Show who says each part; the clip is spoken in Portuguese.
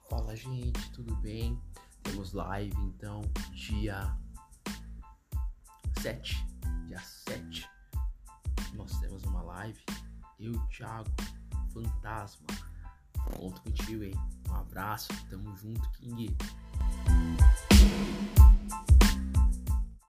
Speaker 1: Fala, gente, tudo bem? Temos live então, dia 7. Dia 7. Nós temos uma live. Eu, Thiago, Fantasma. Conto contigo, hein? Um abraço, tamo junto, King.